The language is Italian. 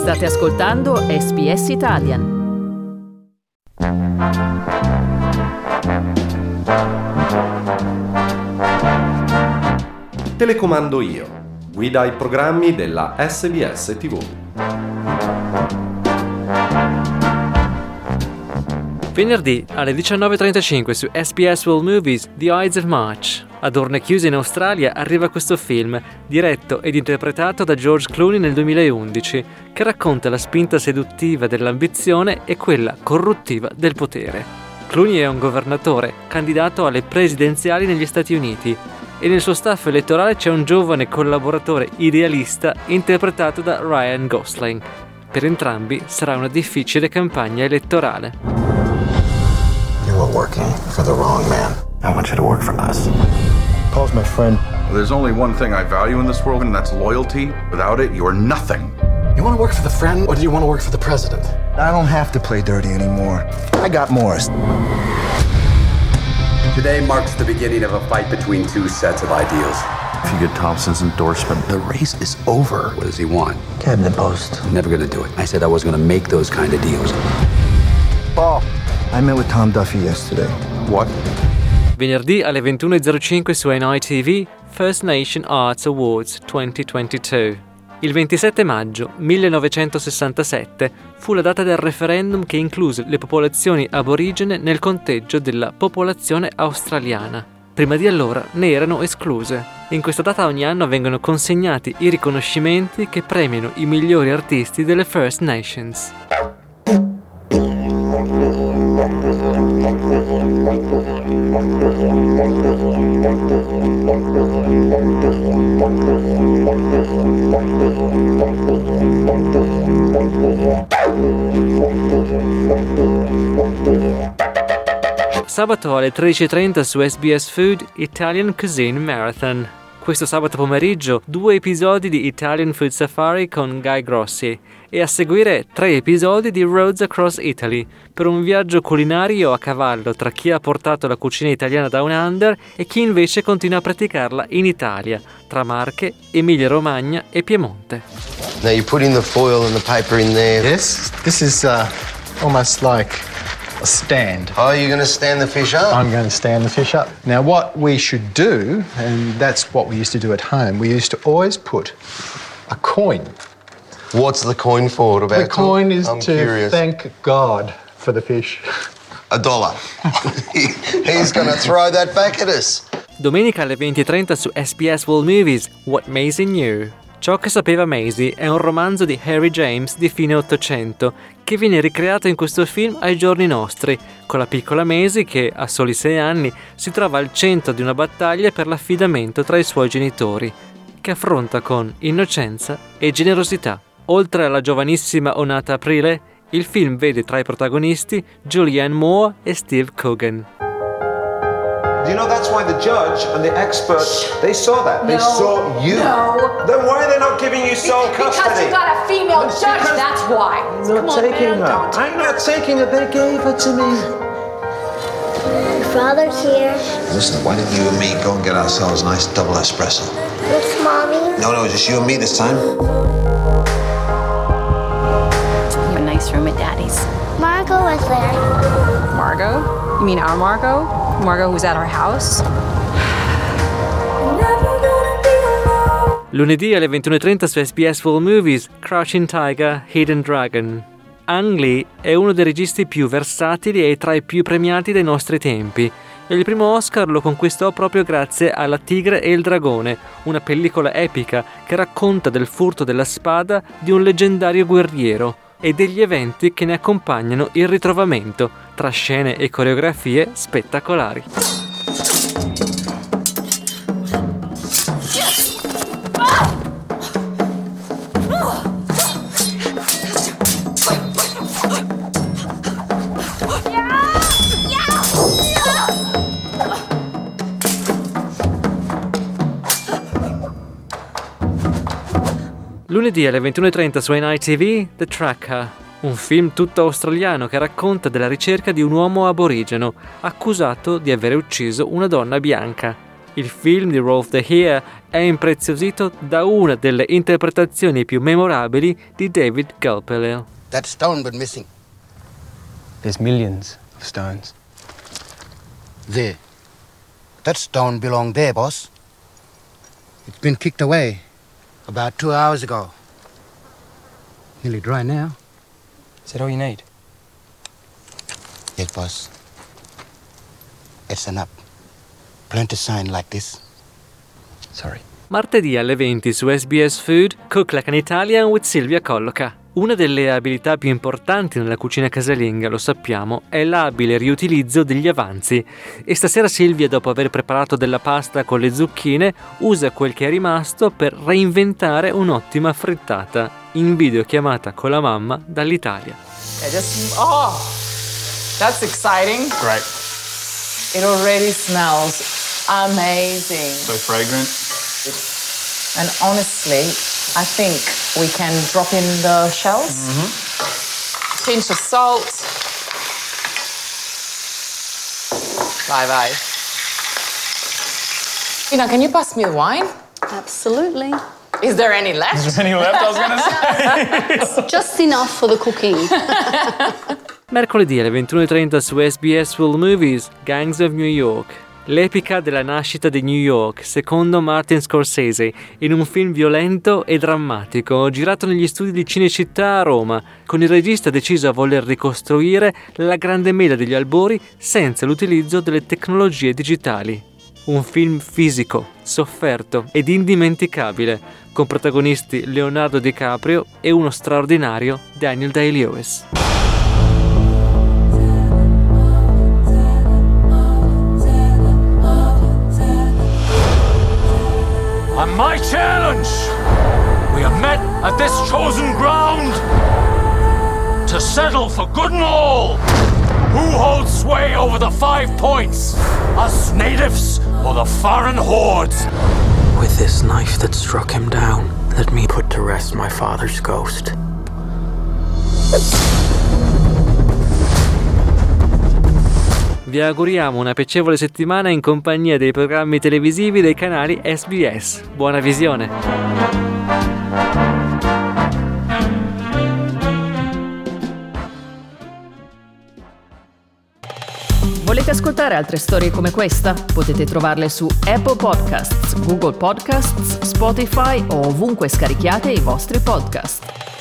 State ascoltando SBS Italian. Telecomando io. Guida ai programmi della SBS TV. Venerdì alle 19.35 su SBS World Movies The Ides of March. Ad urne chiuse in Australia arriva questo film, diretto ed interpretato da George Clooney nel 2011, che racconta la spinta seduttiva dell'ambizione e quella corruttiva del potere. Clooney è un governatore, candidato alle presidenziali negli Stati Uniti, e nel suo staff elettorale c'è un giovane collaboratore idealista interpretato da Ryan Gosling. Per entrambi sarà una difficile campagna elettorale. You are working for the wrong man. I want you to work for us. Paul's my friend. There's only one thing I value in this world, and that's loyalty. Without it, you're nothing. You want to work for the friend, or do you want to work for the president? I don't have to play dirty anymore. I got Morris. Today marks the beginning of a fight between two sets of ideals. If you get Thompson's endorsement, The race is over. What does he want? Cabinet post. I'm never gonna do it. I said I wasn't gonna make those kind of deals. Paul, I met with Tom Duffy yesterday. what? Venerdì alle 21.05 su NITV First Nation Arts Awards 2022. Il 27 maggio 1967 fu la data del referendum che incluse le popolazioni aborigene nel conteggio della popolazione australiana. Prima di allora ne erano escluse. In questa data ogni anno vengono consegnati i riconoscimenti che premiano i migliori artisti delle First Nations. Sabato alle 13.30 su SBS Food Italian Cuisine Marathon. Questo sabato pomeriggio 2 episodi di Italian Food Safari con Guy Grossi e a seguire 3 episodi di Roads Across Italy per un viaggio culinario a cavallo tra chi ha portato la cucina italiana Down Under e chi invece continua a praticarla in Italia, tra Marche, Emilia-Romagna e Piemonte. Now you're putting the foil and the paper in there. Yes, this is almost like a stand. Oh, you're going to stand the fish up? I'm going to stand the fish up. Now what we should do, and that's what we used to do at home, we used to always put a coin. What's the coin for? What about The coin is I'm to curious. thank God for the fish. $1. He's going to throw that back at us. Domenica alle 20.30 su SBS World Movies What Maisie Knew. Ciò che sapeva Maisie è un romanzo di Harry James di fine Ottocento che viene ricreato in questo film ai giorni nostri, con la piccola Maisie che, a soli 6 anni, si trova al centro di una battaglia per l'affidamento tra i suoi genitori, che affronta con innocenza e generosità. Oltre alla giovanissima Onata Aprile, il film vede tra i protagonisti Julianne Moore e Steve Coogan. Do you know that's why the judge and the expert, they saw that. They saw you. No. Then why are they not giving you sole custody? Because you got a female judge, that's why. I'm not taking her. I'm not taking her. They gave her to me. Father's here. Listen, why didn't you and me go and get ourselves a nice double espresso? It's Mommy. No, just you and me this time. You have a nice room at Daddy's. Margot was there. Margot? You mean our Margot? Margot who's at our house? Lunedì alle 21.30 su SBS World Movies Crouching Tiger, Hidden Dragon. Ang Lee è uno dei registi più versatili e tra i più premiati dei nostri tempi. E il primo Oscar lo conquistò proprio grazie a La Tigre e il Dragone, una pellicola epica che racconta del furto della spada di un leggendario guerriero e degli eventi che ne accompagnano il ritrovamento, tra scene e coreografie spettacolari. Lunedì alle 21.30 su NITV The Tracker, un film tutto australiano che racconta della ricerca di un uomo aborigeno accusato di aver ucciso una donna bianca. Il film di Rolf de Heer è impreziosito da una delle interpretazioni più memorabili di David Kulpilil. That stone been missing. There's millions of stones. There. That stone belonged there, boss. It's been kicked away about 2 hours ago. Nearly dry now. Is that all you need? Yes, boss. It's enough. Plenty sign like this. Sorry. Martedì alle 20 su SBS Food, Cook Like an Italian with Silvia Colloca. Una delle abilità più importanti nella cucina casalinga, lo sappiamo, è l'abile riutilizzo degli avanzi. E stasera Silvia, dopo aver preparato della pasta con le zucchine, usa quel che è rimasto per reinventare un'ottima frittata, in videochiamata con la mamma dall'Italia. Oh, that's exciting. Great. It already smells amazing. So fragrant. And honestly, I think we can drop in the shells. Pinch of salt. Bye. Can you pass me the wine? Absolutely. Is there any left? Is there any left, I was gonna say? Just enough for the cooking. Mercoledì alle 21:30 su SBS World Movies, Gangs of New York. L'epica della nascita di New York, secondo Martin Scorsese, in un film violento e drammatico, girato negli studi di Cinecittà a Roma, con il regista deciso a voler ricostruire la grande mela degli albori senza l'utilizzo delle tecnologie digitali. Un film fisico, sofferto ed indimenticabile, con protagonisti Leonardo DiCaprio e uno straordinario Daniel Day-Lewis. On my challenge, we have met at this chosen ground to settle for good and all. Who holds sway over the 5 points? Us natives or the foreign hordes? With this knife that struck him down, let me put to rest my father's ghost. Vi auguriamo una piacevole settimana in compagnia dei programmi televisivi dei canali SBS. Buona visione! Volete ascoltare altre storie come questa? Potete trovarle su Apple Podcasts, Google Podcasts, Spotify o ovunque scarichiate i vostri podcast.